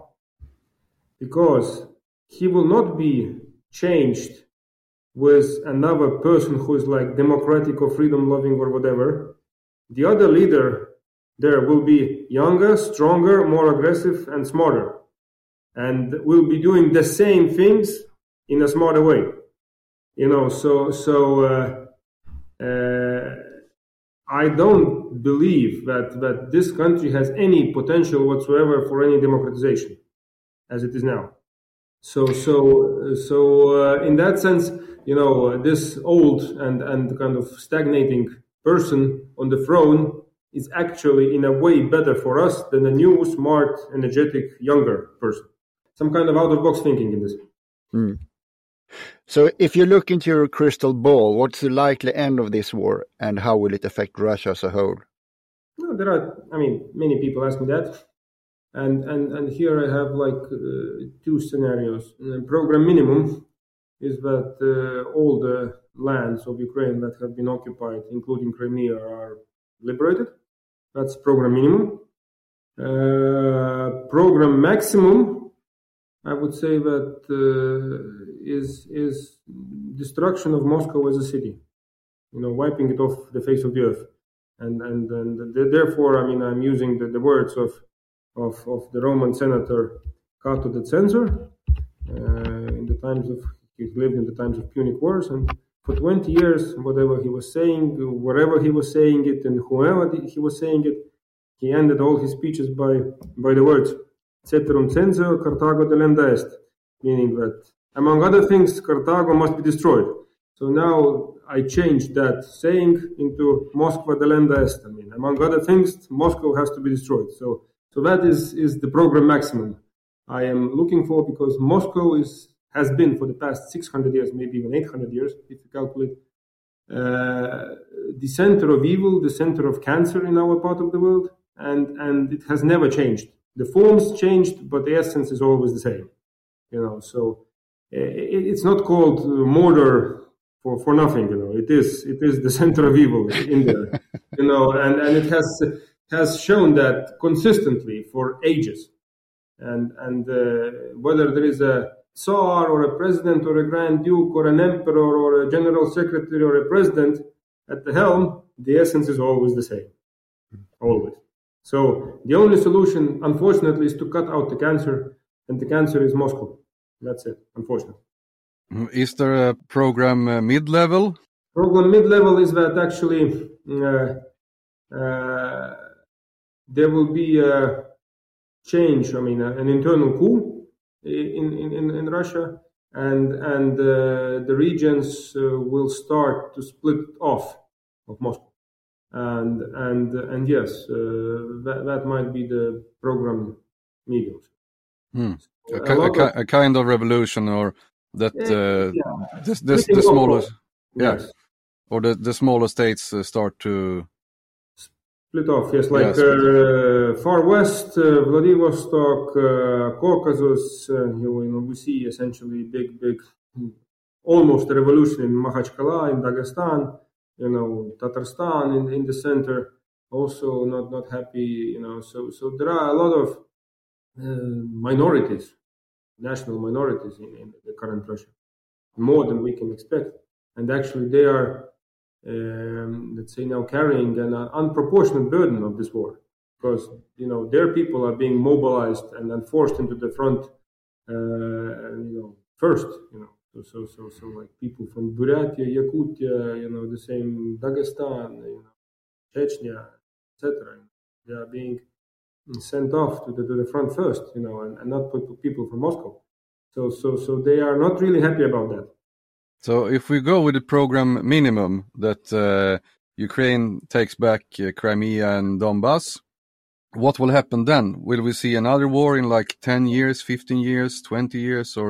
Because he will not be changed with another person who is like democratic or freedom loving or whatever. The other leader there will be younger, stronger, more aggressive and smarter, and will be doing the same things in a smarter way. You know, so so uh, uh, I don't believe that that this country has any potential whatsoever for any democratization as it is now. So so so uh, in that sense, you know, this old and and kind of stagnating person on the throne is actually in a way better for us than a new, smart, energetic, younger person. Some kind of out-of-box thinking in this. Mm. So if you look into your crystal ball, what's the likely end of this war and how will it affect Russia as a whole? No, there are, I mean, many people ask me that. And and, and here I have like uh, two scenarios. And program minimum is that uh, all the lands of Ukraine that have been occupied, including Crimea, are liberated. That's program minimum. Uh, program maximum, I would say that uh, is is destruction of Moscow as a city. You know, wiping it off the face of the earth. And and and therefore, I mean, I'm using the, the words of of of the Roman senator Cato the Censor uh, in the times of he lived in the times of Punic Wars, and for twenty years, whatever he was saying, wherever he was saying it, and whoever he was saying it, he ended all his speeches by by the words "Ceterum censeo Carthago delenda est," meaning that, among other things, Carthago must be destroyed. So now I changed that saying into Moskva delenda est. I mean, among other things, Moscow has to be destroyed. So, so that is is the program maximum I am looking for, because Moscow is. has been for the past six hundred years, maybe even eight hundred years, if you calculate, uh, the center of evil, the center of cancer in our part of the world, and, and it has never changed. The forms changed, but the essence is always the same. You know, so uh, it, it's not called murder for, for nothing. You know, it is it is the center of evil in there. You know, and, and it has has shown that consistently for ages, and and uh, whether there is a Tsar or a president or a Grand Duke or an emperor or a general secretary or a president at the helm, the essence is always the same. Always. So the only solution, unfortunately, is to cut out the cancer, and the cancer is Moscow. That's it, unfortunately. Is there a program uh, mid-level? Program mid-level is that actually uh, uh, there will be a change, I mean, an internal coup In, in, in Russia, and and uh, the regions uh, will start to split off of Moscow, and and and yes, uh, that that might be the program medium. Hmm. So a, a, a, a kind of revolution, or that uh, yeah. this, this, the smaller, yeah, yes. or the the smaller states uh, start to split off. Yes, like yes. Uh, far west, uh, Vladivostok, uh, Caucasus. Uh, you know, we see essentially big, big, almost a revolution in Makhachkala in Dagestan. You know, Tatarstan in in the center, also not not happy. You know, so so there are a lot of uh, minorities, national minorities in, in the current Russia, more than we can expect, and actually they are. Um, let's say now carrying an uh, unproportionate burden of this war, because you know their people are being mobilized and then forced into the front, uh, you know, first, you know, so so so so like people from Buryatia, Yakutia, you know, the same Dagestan, you know, Chechnya, et cetera. They are being sent off to the to the front first, you know, and, and not people from Moscow. So so so they are not really happy about that. So if we go with the program minimum that uh, Ukraine takes back uh, Crimea and Donbass, what will happen then? Will we see another war in like ten years, fifteen years, twenty years, or?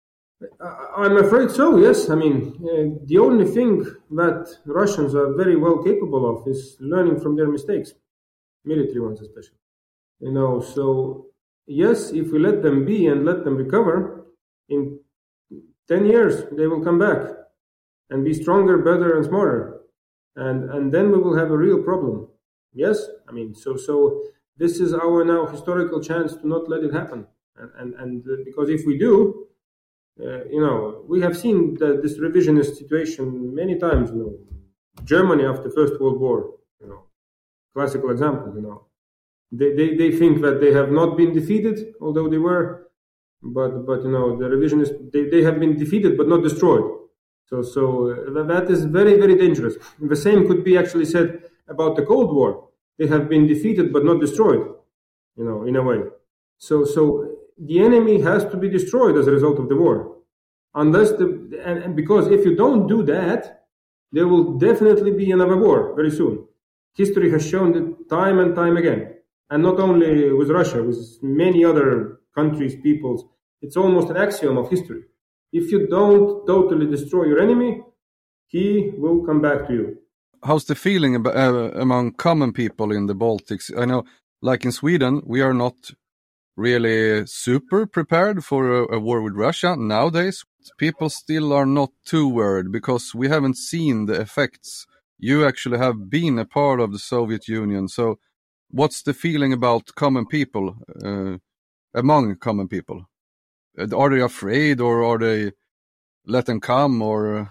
I'm afraid so, yes. I mean, uh, the only thing that Russians are very well capable of is learning from their mistakes, military ones especially. You know, so yes, if we let them be and let them recover, in ten years they will come back and be stronger, better, and smarter, and and then we will have a real problem. Yes, I mean, so so this is our now historical chance to not let it happen, and and, and uh, because if we do. Uh, you know, we have seen the, this revisionist situation many times. You know, Germany after First World War. You know, classical example. You know, they, they they think that they have not been defeated, although they were, but but you know, the revisionists they, they have been defeated but not destroyed. So so uh, that is very very dangerous. The same could be actually said about the Cold War. They have been defeated but not destroyed. You know, in a way. So so. The enemy has to be destroyed as a result of the war, unless the and, and because if you don't do that, there will definitely be another war very soon. History has shown it time and time again, and not only with Russia, with many other countries, peoples. It's almost an axiom of history. If you don't totally destroy your enemy, he will come back to you. How's the feeling about, uh, among common people in the Baltics? I know, like in Sweden, we are not really super prepared for a, a war with Russia nowadays. People still are not too worried because we haven't seen the effects. You actually have been a part of the Soviet Union. So what's the feeling about common people, uh, among common people? Are they afraid, or are they let them come, or?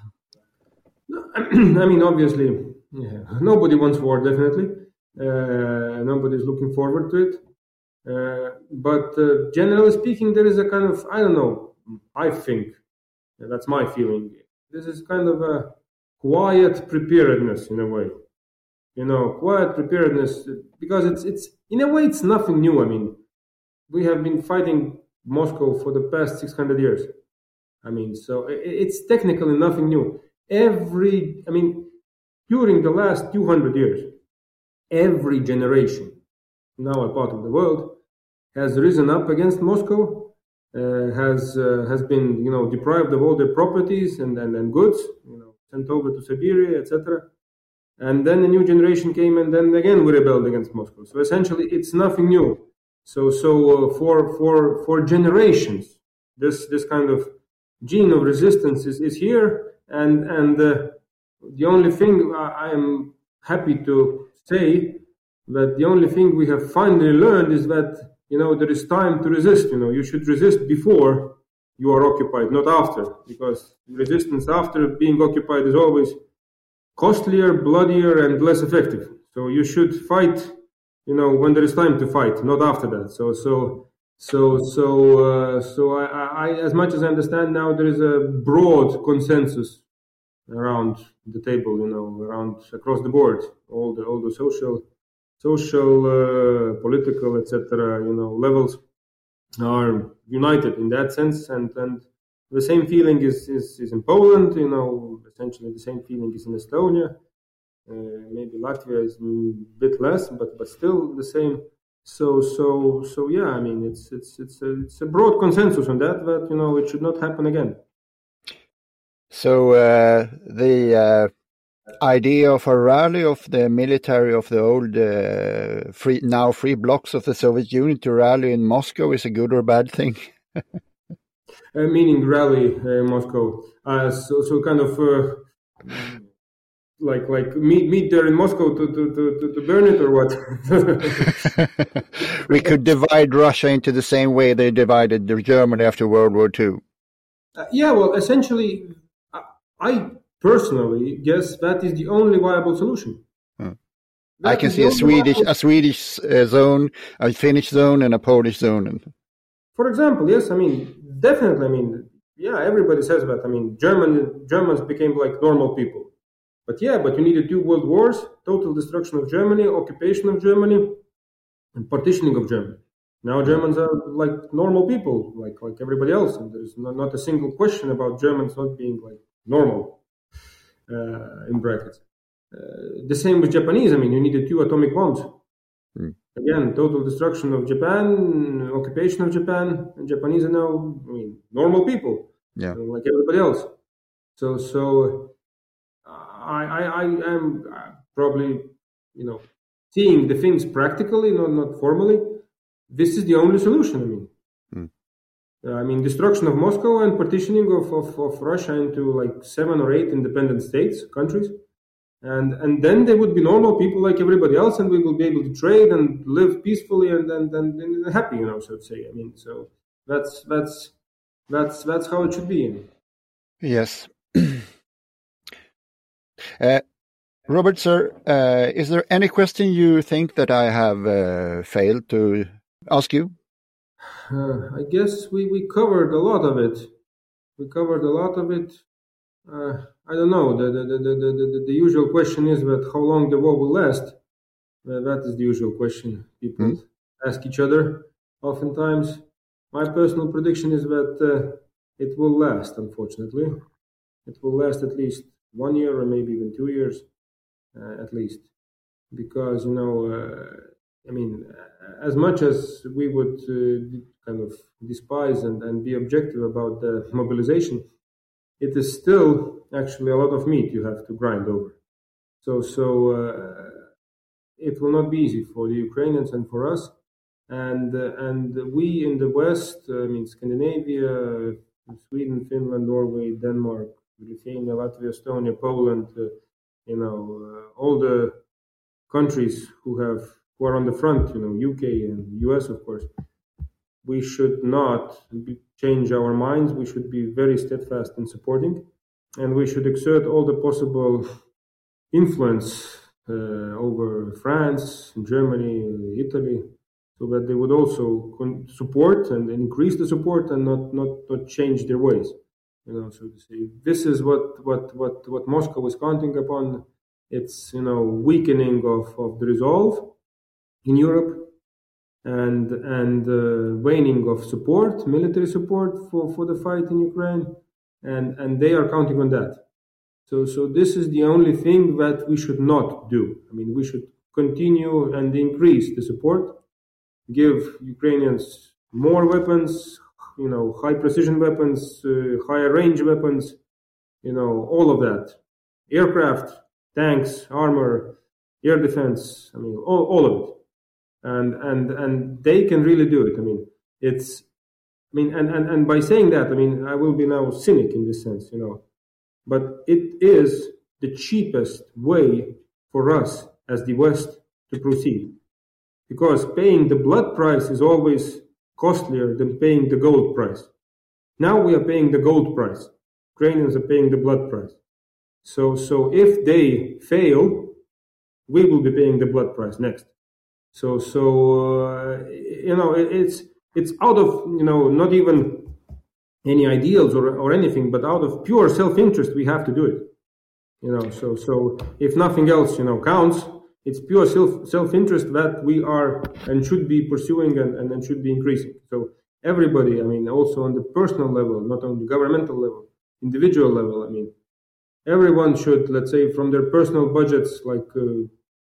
I mean, obviously, yeah, nobody wants war, definitely. Uh, nobody's looking forward to it. Uh, but uh, generally speaking, there is a kind of, I don't know, I think, that's my feeling, this is kind of a quiet preparedness in a way. You know, quiet preparedness, because it's, it's in a way, it's nothing new. I mean, we have been fighting Moscow for the past six hundred years. I mean, so it's technically nothing new. Every, I mean, during the last two hundred years, every generation, now a part of the world, has risen up against Moscow, uh, has uh, has been, you know, deprived of all their properties and, and, and goods, you know, sent over to Siberia, et cetera. And then a new generation came, and then again we rebelled against Moscow. So essentially, it's nothing new. So so uh, for for for generations, this this kind of gene of resistance is, is here, and and uh, the only thing I, I am happy to say that the only thing we have finally learned is that, you know, there is time to resist. You know, you should resist before you are occupied, not after, because resistance after being occupied is always costlier, bloodier, and less effective. So you should fight, you know, when there is time to fight, not after that. So, so, so, so, uh, so I, I, as much as I understand now, there is a broad consensus around the table, you know, around across the board, all the all the social. social, uh, political, et cetera, you know, levels are united in that sense, and, and the same feeling is, is, is in Poland, you know, essentially the same feeling is in Estonia, uh, maybe Latvia is a bit less, but, but still the same. So, so, so yeah, I mean, it's, it's, it's a, it's a broad consensus on that, that, you know, it should not happen again. So, uh, the, uh... idea of a rally of the military of the old uh, free now free blocks of the Soviet Union to rally in Moscow is a good or bad thing? uh, meaning rally uh, in Moscow, uh, so so kind of uh, like like meet meet there in Moscow to to to, to burn it, or what? We could divide Russia into the same way they divided Germany after World War Two. Uh, yeah, well, essentially, I. I personally guess that is the only viable solution. Hmm. I can see a Swedish viable... a Swedish uh, zone, a Finnish zone, and a Polish zone. For example, yes, I mean, definitely, I mean, yeah, everybody says that. I mean, German Germans became like normal people. But yeah, but you needed two world wars, total destruction of Germany, occupation of Germany, and partitioning of Germany. Now Germans are like normal people, like like everybody else, and there's not, not a single question about Germans not being like normal. Uh, in brackets. Uh, the same with Japanese. I mean, you needed two atomic bombs. Mm. Again, total destruction of Japan, occupation of Japan, and Japanese are now, I mean, normal people, yeah, you know, like everybody else. So, so I, I, I am probably, you know, seeing the things practically, not not formally. this is the only solution. I mean, Mm. uh, I mean, destruction of Moscow and partitioning of, of, of Russia into like seven or eight independent states, countries. And and then they would be normal people like everybody else, and we will be able to trade and live peacefully and and, and, and happy, you know, so to say. I mean, so that's that's that's that's how it should be. Yes. uh, Robert, sir, uh, is there any question you think that I have uh, failed to ask you? Uh, I guess we, we covered a lot of it. We covered a lot of it. Uh, I don't know. The the, the, the, the the usual question is that how long the war will last. Uh, that is the usual question people mm. ask each other oftentimes. My personal prediction is that uh, it will last, unfortunately. It will last at least one year or maybe even two years, uh, at least. Because, you know, uh, I mean, as much as we would uh, kind of despise and, and be objective about the mobilization, it is still actually a lot of meat you have to grind over. So, so uh, it will not be easy for the Ukrainians and for us. And uh, and we in the West, uh, I mean, Scandinavia, Sweden, Finland, Norway, Denmark, Lithuania, Latvia, Estonia, Poland, uh, you know, uh, all the countries who have who are on the front, you know, U K and U S, of course, we should not be, change our minds. We should be very steadfast in supporting, and we should exert all the possible influence uh, over France, Germany, Italy, so that they would also con- support and increase the support and not, not, not change their ways. You know, so to say, this is what, what, what, what Moscow is counting upon. It's, you know, weakening of, of the resolve in Europe and and uh, waning of support, military support for, for the fight in Ukraine, and, and they are counting on that. So so this is the only thing that we should not do. I mean, we should continue and increase the support, give Ukrainians more weapons, you know, high precision weapons, uh, higher range weapons, you know, all of that, aircraft, tanks, armor, air defense. I mean, all, all of it. And and and they can really do it. I mean, it's, I mean, and, and, and by saying that, I mean, I will be now cynic in this sense, you know, but it is the cheapest way for us as the West to proceed, because paying the blood price is always costlier than paying the gold price. Now we are paying the gold price. Ukrainians are paying the blood price. So so if they fail, we will be paying the blood price next. So, so uh, you know, it, it's it's out of, you know, not even any ideals or or anything, but out of pure self-interest, we have to do it. You know, so so if nothing else, you know, counts, it's pure self self-interest that we are and should be pursuing and, and, and should be increasing. So everybody, I mean, also on the personal level, not on the governmental level, individual level, I mean, everyone should, let's say, from their personal budgets, like. Uh,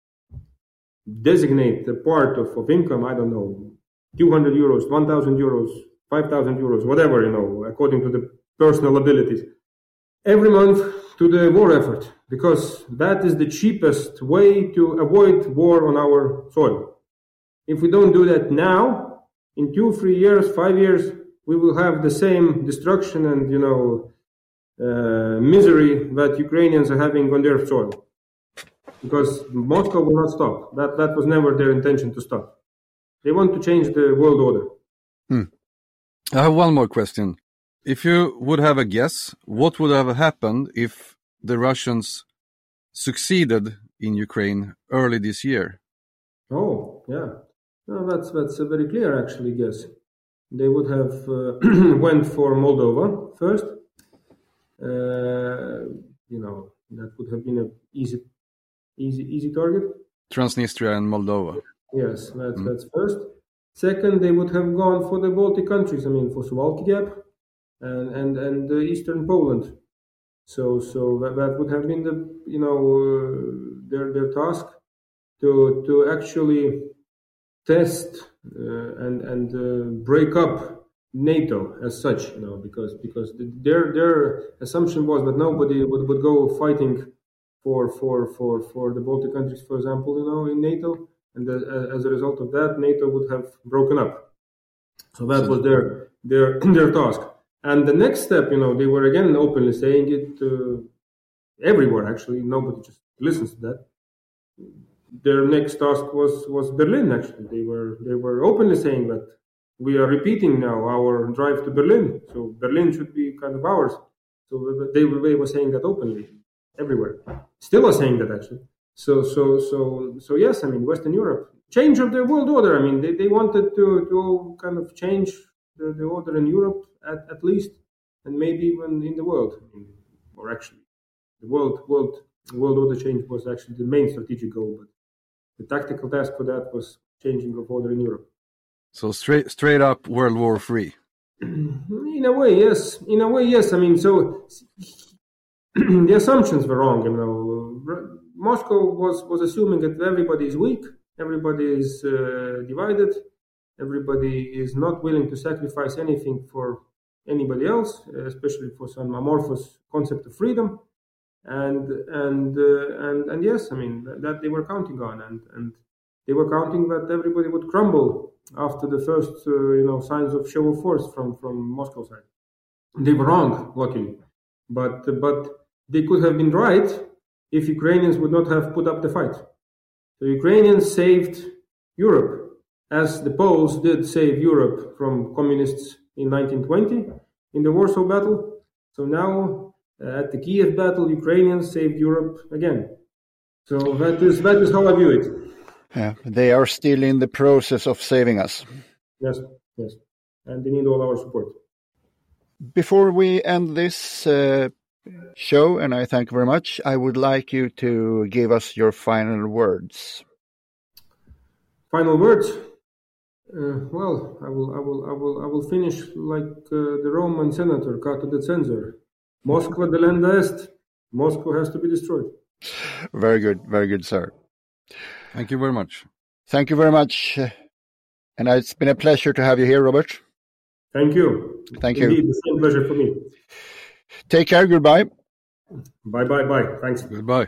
designate a part of, of income, I don't know, two hundred euros, one thousand euros, five thousand euros, whatever, you know, according to the personal abilities, every month to the war effort, because that is the cheapest way to avoid war on our soil. If we don't do that now, in two, three years, five years, we will have the same destruction and, you know, uh, misery that Ukrainians are having on their soil. Because Moscow will not stop. That that was never their intention to stop. They want to change the world order. Hmm. I have one more question. If you would have a guess, what would have happened if the Russians succeeded in Ukraine early this year? Oh, yeah. No, that's that's a very clear, actually, guess. They would have uh, went for Moldova first. Uh, you know, that would have been an easy Easy, easy target. Transnistria and Moldova. Yes, that's mm. that's first. Second, they would have gone for the Baltic countries. I mean, for Suwalki Gap and and and uh, eastern Poland. So so that, that would have been the, you know, uh, their their task to to actually test uh, and and uh, break up NATO as such. You know, because because their their assumption was that nobody would, would go fighting. For, for for for the Baltic countries, for example, you know, in NATO, and the, as a result of that, NATO would have broken up. So that was their their their task. And the next step, you know, they were again openly saying it uh, everywhere. Actually, nobody just listens to that. Their next task was was Berlin. Actually, they were they were openly saying that we are repeating now our drive to Berlin. So Berlin should be kind of ours. So they were, they were saying that openly everywhere. Still are saying that actually. So so so so yes, I mean Western Europe, change of the world order. I mean they, they wanted to, to kind of change the, the order in Europe at, at least, and maybe even in the world. I mean, or actually, the world world world order change was actually the main strategic goal, but the tactical task for that was changing of order in Europe. So straight straight up World War Three. In a way, yes. In a way, yes. I mean, so the assumptions were wrong. You know, Moscow was, was assuming that everybody is weak, everybody is uh, divided, everybody is not willing to sacrifice anything for anybody else, especially for some amorphous concept of freedom. And and uh, and and yes, I mean that, that they were counting on, and and they were counting that everybody would crumble after the first uh, you know signs of show of force from from Moscow side. They were wrong, luckily, but but they could have been right if Ukrainians would not have put up the fight. The Ukrainians saved Europe, as the Poles did save Europe from communists in nineteen twenty in the Warsaw Battle. So now. Uh, at the Kiev battle, Ukrainians saved Europe again. So that is that is how I view it. Yeah, they are still in the process of saving us. Yes, yes. And they need all our support. Before we end this uh, show, and I thank you very much, I would like you to give us your final words. Final words? Uh, well, I will, I will, I will, I will finish like uh, the Roman senator, Cato the Censor. Moskva delenda est. Moscow has to be destroyed. Very good, very good, sir. Thank you very much. Thank you very much. And it's been a pleasure to have you here, Robert. Thank you. Thank Indeed, you. the same pleasure for me. Take care, goodbye. Bye, bye, bye. Thanks. Goodbye.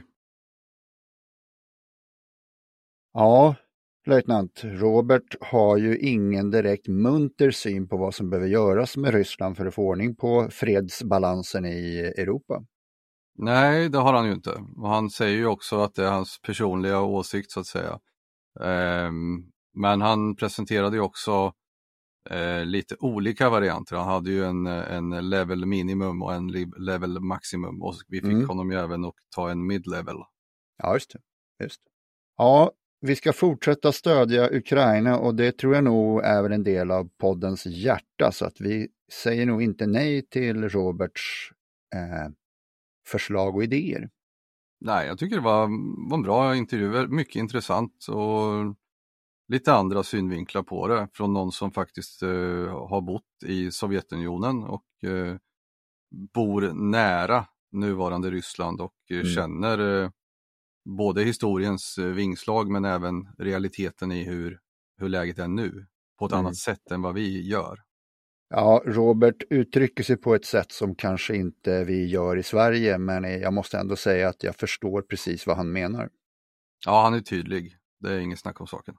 Ja, löjtnant, Robert har ju ingen direkt munter syn på vad som behöver göras med Ryssland för att få ordning på fredsbalansen i Europa. Nej, det har han ju inte. Och han säger ju också att det är hans personliga åsikt så att säga. Um, men han presenterade ju också uh, lite olika varianter. Han hade ju en, en level minimum och en level maximum. Och vi fick mm. honom ju även att ta en mid-level. Ja, just det. Just. Ja, vi ska fortsätta stödja Ukraina och det tror jag nog är väl en del av poddens hjärta. Så att vi säger nog inte nej till Roberts eh, förslag och idéer. Nej, jag tycker det var, var en bra intervju, mycket intressant och lite andra synvinklar på det från någon som faktiskt eh, har bott i Sovjetunionen och eh, bor nära nuvarande Ryssland och eh, mm. känner eh, både historiens vingslag men även realiteten i hur, hur läget är nu på ett mm. annat sätt än vad vi gör. Ja, Robert uttrycker sig på ett sätt som kanske inte vi gör i Sverige, men jag måste ändå säga att jag förstår precis vad han menar. Ja, han är tydlig. Det är inget snack om saken.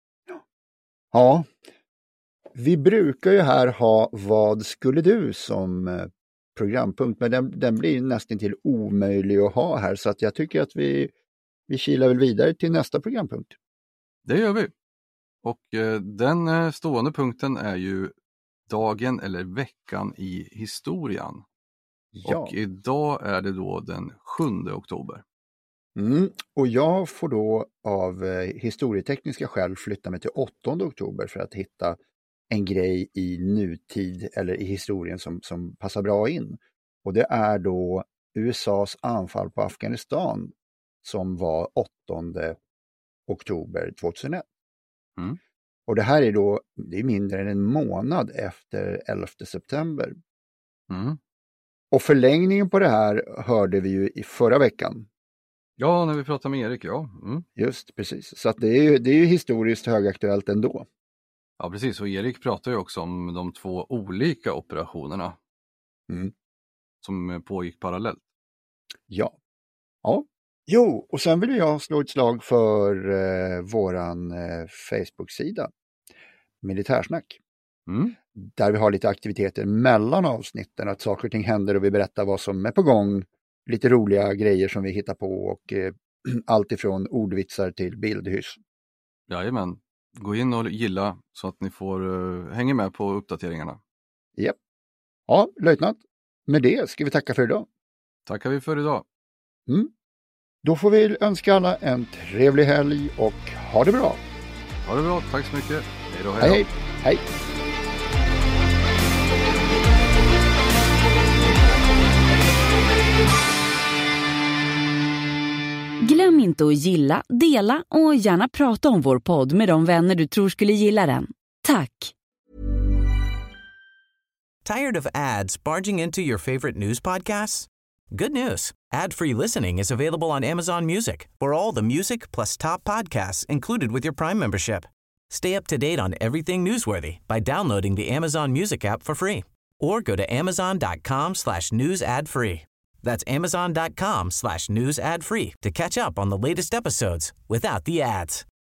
Ja, vi brukar ju här ha vad skulle du som programpunkt, men den, den blir nästan till omöjlig att ha här, så att jag tycker att vi, vi kilar väl vidare till nästa programpunkt. Det gör vi. Och eh, den stående punkten är ju dagen eller veckan i historien. Ja. Och idag är det då den sjunde oktober. Mm. Och jag får då av eh, historietekniska skäl flytta mig till åttonde oktober för att hitta en grej i nutid eller i historien som, som passar bra in. Och det är då U S A:s anfall på Afghanistan som var åttonde oktober tjugohundraett. Mm. Och det här är då, det är mindre än en månad efter elfte september. Mm. Och förlängningen på det här hörde vi ju i förra veckan. Ja, när vi pratade med Erik, ja. Mm. Just, precis. Så att det är ju, det är ju historiskt högaktuellt ändå. Ja, precis. Och Erik pratar ju också om de två olika operationerna mm. som pågick parallellt. Ja. Ja, Jo, och sen vill jag slå ett slag för eh, våran eh, Facebook-sida, Militärsnack. Mm. Där vi har lite aktiviteter mellan avsnitten, att saker och ting händer och vi berättar vad som är på gång. Lite roliga grejer som vi hittar på och eh, allt ifrån ordvitsar till bildhyss. Jajamän, gå in och gilla så att ni får uh, hänga med på uppdateringarna. Japp. Ja, löjtnant. Med det ska vi tacka för idag. Tackar vi för idag. Mm. Då får vi önska alla en trevlig helg och ha det bra. Ha det bra, tack så mycket. Hej då, hej. Hej, hej. Glöm inte att gilla, dela och gärna prata om vår podd med de vänner du tror skulle gilla den. Tack! Tired of ads barging into your favorite news podcasts? Good news. Ad-free listening is available on Amazon Music for all the music plus top podcasts included with your Prime membership. Stay up to date on everything newsworthy by downloading the Amazon Music app for free or go to amazon.com slash news ad free. That's amazon.com slash news ad free to catch up on the latest episodes without the ads.